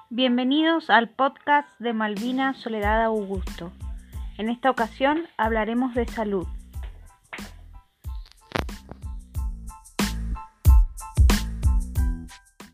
Bienvenidos al podcast de Malvina Soledad Augusto. En esta ocasión hablaremos de salud.